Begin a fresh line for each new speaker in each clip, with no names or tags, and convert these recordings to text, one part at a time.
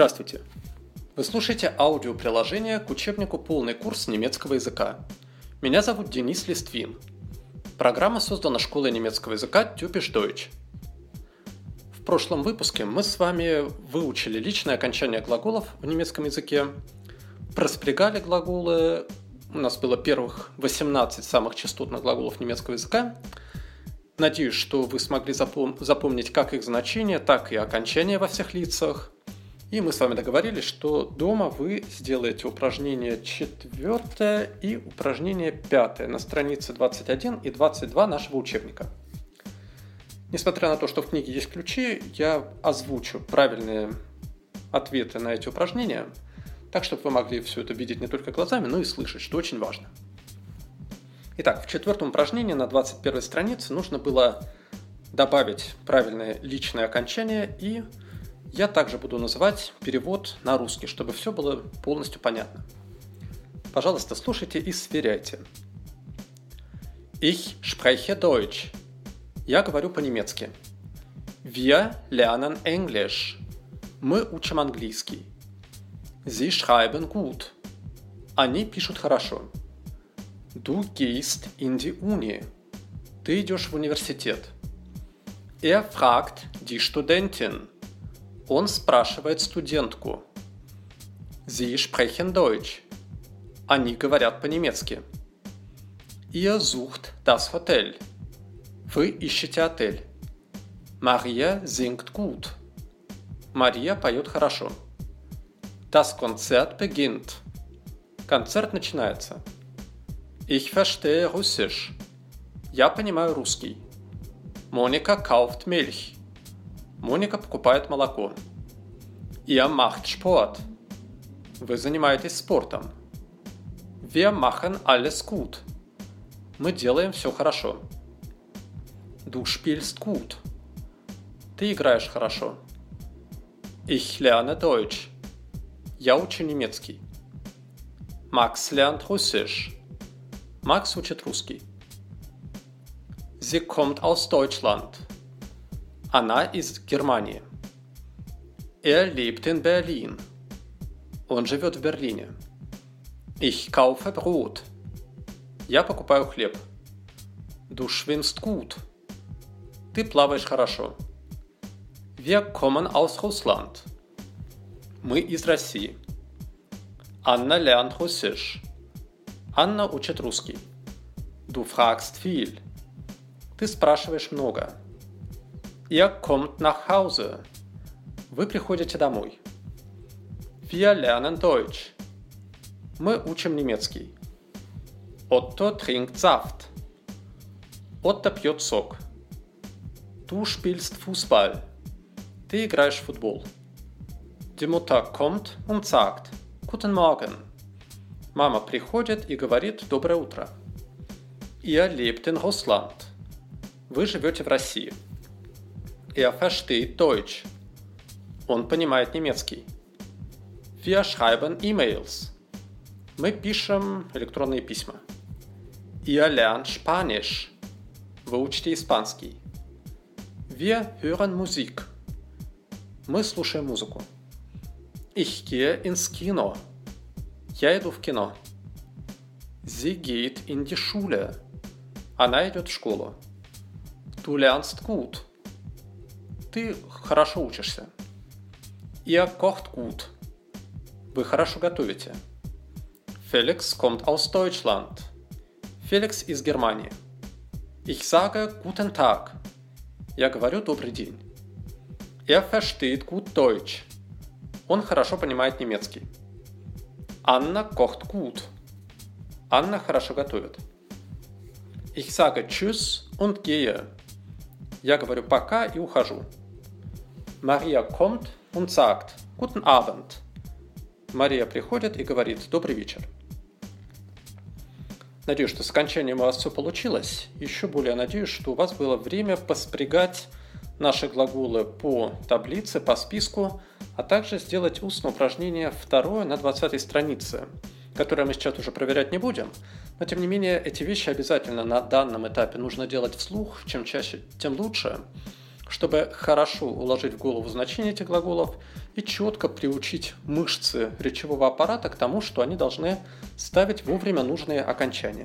Здравствуйте! Вы слушаете аудиоприложение к учебнику «Полный курс немецкого языка». Меня зовут Денис Листвин. Программа создана школой немецкого языка Typisch Deutsch. В прошлом выпуске мы с вами выучили личное окончание глаголов в немецком языке, проспрягали глаголы, у нас было первых 18 самых частотных глаголов немецкого языка. Надеюсь, что вы смогли запомнить как их значение, так и окончание во всех лицах. И мы с вами договорились, что дома вы сделаете упражнение 4 и упражнение 5 на странице 21 и 22 нашего учебника. Несмотря на то, что в книге есть ключи, я озвучу правильные ответы на эти упражнения, так, чтобы вы могли все это видеть не только глазами, но и слышать, что очень важно. Итак, в 4 упражнении на 21 странице нужно было добавить правильное личное окончание, и я также буду называть перевод на русский, чтобы все было полностью понятно. Пожалуйста, слушайте и сверяйте. Ich spreche Deutsch. Я говорю по-немецки. Wir lernen Englisch. Мы учим английский. Sie schreiben gut. Они пишут хорошо. Du gehst in die Uni. Ты идешь в университет. Er fragt die Studentin. Он спрашивает студентку. Sie sprechen Deutsch. Они говорят по-немецки. Ihr sucht das Hotel. Вы ищете отель. Maria singt gut. Мария поет хорошо. Das Konzert beginnt. Концерт начинается. Ich verstehe Russisch. Я понимаю русский. Monika kauft Milch. Моника покупает молоко. Ihr macht Sport. Вы занимаетесь спортом. Wir machen alles gut. Мы делаем все хорошо. Du spielst gut. Ты играешь хорошо. Ich lerne Deutsch. Я учу немецкий. Max lernt Russisch. Макс учит русский. Sie kommt aus Deutschland. Она из Германии. Er lebt in Berlin. Он живет в Берлине. Ich kaufe Brot. Я покупаю хлеб. Du schwimmst gut. Ты плаваешь хорошо. Wir kommen aus Russland. Мы из России. Anna lernt Russisch. Анна учит русский. Du fragst viel. Ты спрашиваешь много. Ihr kommt nach Hause. Вы приходите домой. Wir lernen Deutsch. Мы учим немецкий. Otto trinkt Saft. Отто пьет сок. Du spielst Fußball. Ты играешь в футбол. Die Mutter kommt und sagt Guten Morgen. Мама приходит и говорит «Доброе утро». Ihr lebt in Russland. Вы живете в России. Er versteht Deutsch. Он понимает немецкий. Wir schreiben E-Mails. Мы пишем электронные письма. Ihr lernt Spanisch. Вы учите испанский. Wir hören Musik. Мы слушаем музыку. Ich gehe ins Kino. Я иду в кино. Sie geht in die Schule. Она идет в школу. Du lernst gut. Ты хорошо учишься. Ihr kocht gut. Вы хорошо готовите. Felix kommt aus Deutschland. Felix из Германии. Ich sage guten Tag. Я говорю добрый день. Er versteht gut Deutsch. Он хорошо понимает немецкий. Anna kocht gut. Анна хорошо готовит. Ich sage tschüss und gehe. Я говорю пока и ухожу. Maria kommt und sagt Guten Abend. Мария приходит и говорит добрый вечер. Надеюсь, что с окончанием у вас все получилось. Еще более надеюсь, что у вас было время поспрягать наши глаголы по таблице, по списку, а также сделать устное упражнение 2 на 20 странице, которое мы сейчас уже проверять не будем, но тем не менее эти вещи обязательно на данном этапе нужно делать вслух, чем чаще, тем лучше, чтобы хорошо уложить в голову значение этих глаголов и четко приучить мышцы речевого аппарата к тому, что они должны ставить вовремя нужные окончания.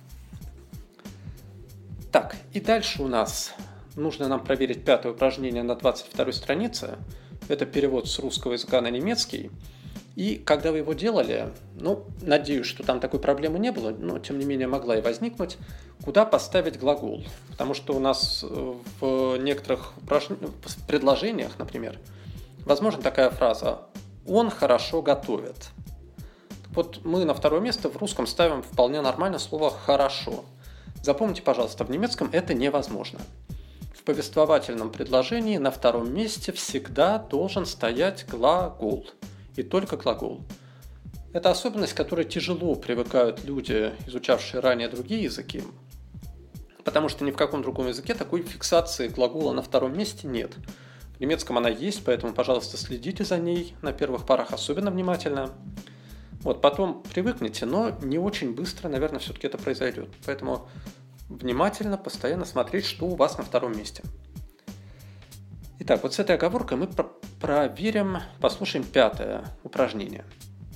Так, и дальше у нас нужно нам проверить пятое упражнение на 22 странице. Это перевод с русского языка на немецкий. И когда вы его делали, надеюсь, что там такой проблемы не было, но тем не менее могла и возникнуть, куда поставить глагол. Потому что у нас в некоторых предложениях, например, возможна такая фраза «он хорошо готовит». Так вот, мы на второе место в русском ставим вполне нормально слово «хорошо». Запомните, пожалуйста, в немецком это невозможно. В повествовательном предложении на втором месте всегда должен стоять глагол. И только глагол. Это особенность, к которой тяжело привыкают люди, изучавшие ранее другие языки, потому что ни в каком другом языке такой фиксации глагола на втором месте нет. В немецком она есть, поэтому, пожалуйста, следите за ней на первых порах особенно внимательно. Потом привыкнете, но не очень быстро, наверное, все-таки это произойдет. Поэтому внимательно, постоянно смотреть, что у вас на втором месте. Итак, с этой оговоркой мы проверим, послушаем пятое упражнение.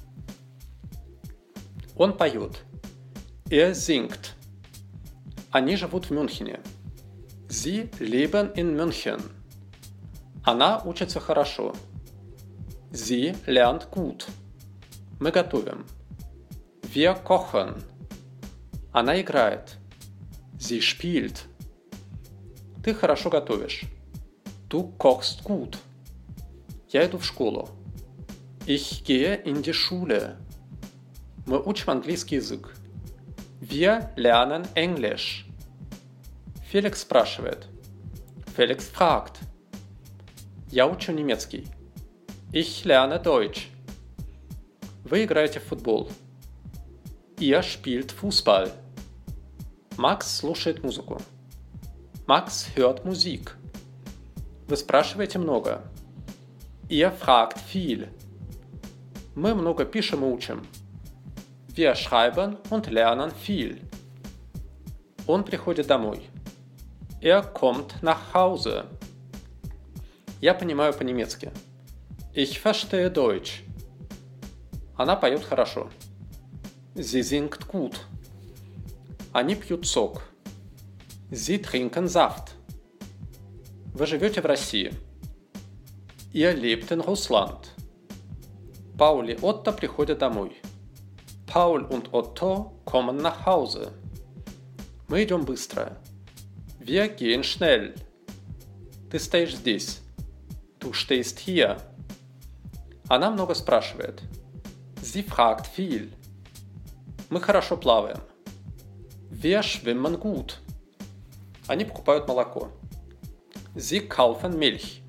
Он поет. Singt. Они живут в Мюнхене. Sie leben in München. Она учится хорошо. Sie lernt gut. Мы готовим. Wir kochen. Она играет. Sie spielt. Ты хорошо готовишь. Du kochst gut. Я иду в школу. Ich gehe in die Schule. Мы учим английский язык. Wir lernen Englisch. Феликс спрашивает. Felix fragt. Я учу немецкий. Ich lerne Deutsch. Вы играете в футбол. Ihr spielt Fußball. Макс слушает музыку. Max hört Musik. Вы спрашиваете много. Ihr fragt viel. Мы много пишем и учим. Wir schreiben und lernen viel. Он приходит домой. Kommt nach Hause. Я понимаю по-немецки. Ich verstehe Deutsch. Она поет хорошо. Sie singt gut. Они пьют сок. Sie trinken Saft. Вы живете в России. Ihr lebt in Russland. Paul и Otto приходят домой. Paul und Otto kommen nach Hause. Мы идем быстро. Wir gehen schnell. Ты стоишь здесь. Du stehst hier. Она много спрашивает. Sie fragt viel. Мы хорошо плаваем. Wir schwimmen gut. Они покупают молоко. Sie kaufen Milch.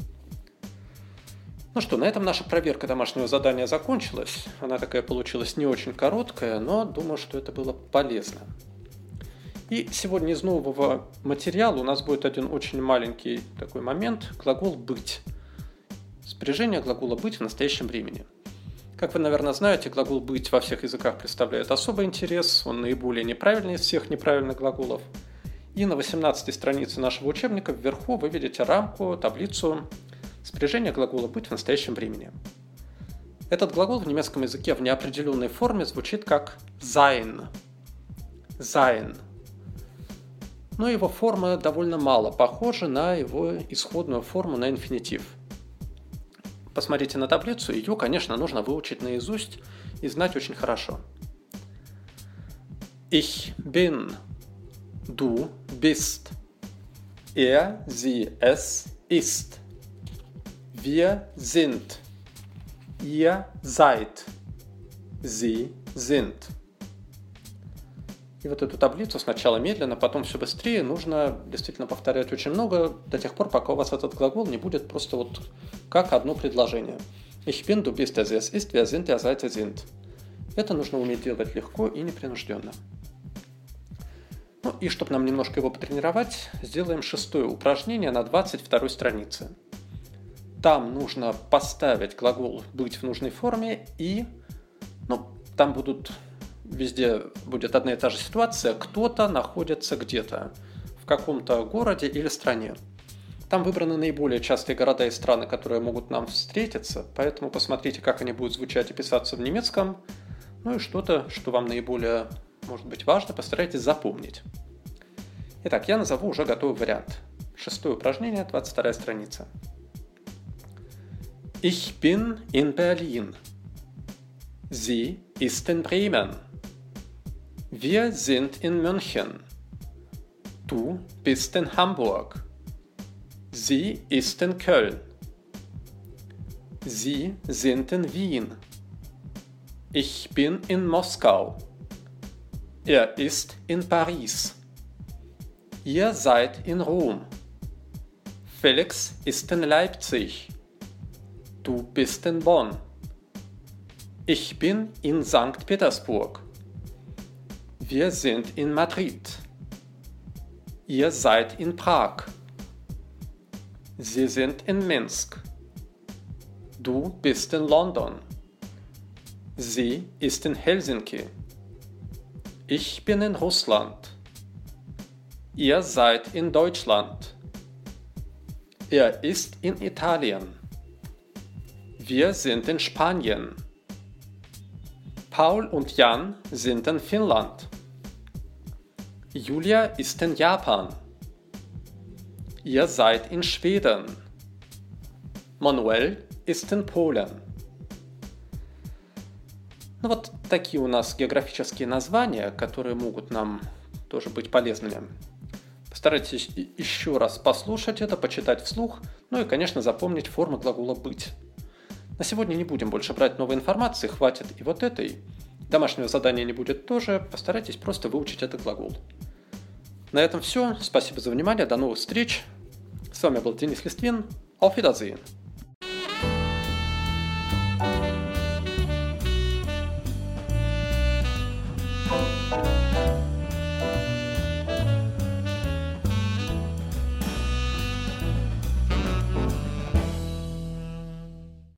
На этом наша проверка домашнего задания закончилась. Она такая получилась не очень короткая, но думаю, что это было полезно. И сегодня из нового материала у нас будет один очень маленький такой момент – глагол «быть». Спряжение глагола «быть» в настоящем времени. Как вы, наверное, знаете, глагол «быть» во всех языках представляет особый интерес, он наиболее неправильный из всех неправильных глаголов. И на 18 странице нашего учебника вверху вы видите рамку, таблицу спряжения глагола «быть» в настоящем времени. Этот глагол в немецком языке в неопределенной форме звучит как sein. Sein. Но его форма довольно мало похожа на его исходную форму на инфинитив. Посмотрите на таблицу, ее, конечно, нужно выучить наизусть и знать очень хорошо. Ich bin. Du bist. Sie, es ist. Wir sind. Ihr seid. Sie sind. И эту таблицу сначала медленно, потом все быстрее нужно действительно повторять очень много до тех пор, пока у вас этот глагол не будет просто как одно предложение. Ich bin, du bist, es ist, wir sind, ihr seid, ihr sind. Это нужно уметь делать легко и непринужденно. И чтобы нам немножко его потренировать, сделаем шестое упражнение на 22 странице. Там нужно поставить глагол «быть» в нужной форме и, там везде будет одна и та же ситуация, кто-то находится где-то, в каком-то городе или стране. Там выбраны наиболее частые города и страны, которые могут нам встретиться, поэтому посмотрите, как они будут звучать и писаться в немецком. Ну и что-то, что вам наиболее, может быть, важно, постарайтесь запомнить. Итак, я назову уже готовый вариант. 6-е упражнение, 22-я страница. Ich bin in Berlin. Sie ist in Bremen. Wir sind in München. Du bist in Hamburg. Sie ist in Köln. Sie sind in Wien. Ich bin in Moskau. Er ist in Paris. Ihr seid in Rom. Felix ist in Leipzig. Du bist in Bonn. Ich bin in Sankt Petersburg. Wir sind in Madrid. Ihr seid in Prag. Sie sind in Minsk. Du bist in London. Sie ist in Helsinki. Ich bin in Russland. Ihr seid in Deutschland. Er ist in Italien. Wir sind in Spanien. Paul und Jan sind in Finnland. Julia ist in Japan. Ihr seid in Schweden. Manuel ist in Polen. Ну вот такие у нас географические названия, которые могут нам тоже быть полезными. Постарайтесь еще раз послушать это, почитать вслух, ну и, конечно, запомнить формы глагола «быть». На сегодня не будем больше брать новой информации, хватит и вот этой. Домашнего задания не будет тоже, постарайтесь просто выучить этот глагол. На этом все. Спасибо за внимание, до новых встреч. С вами был Денис Листвин. Auf Wiedersehen.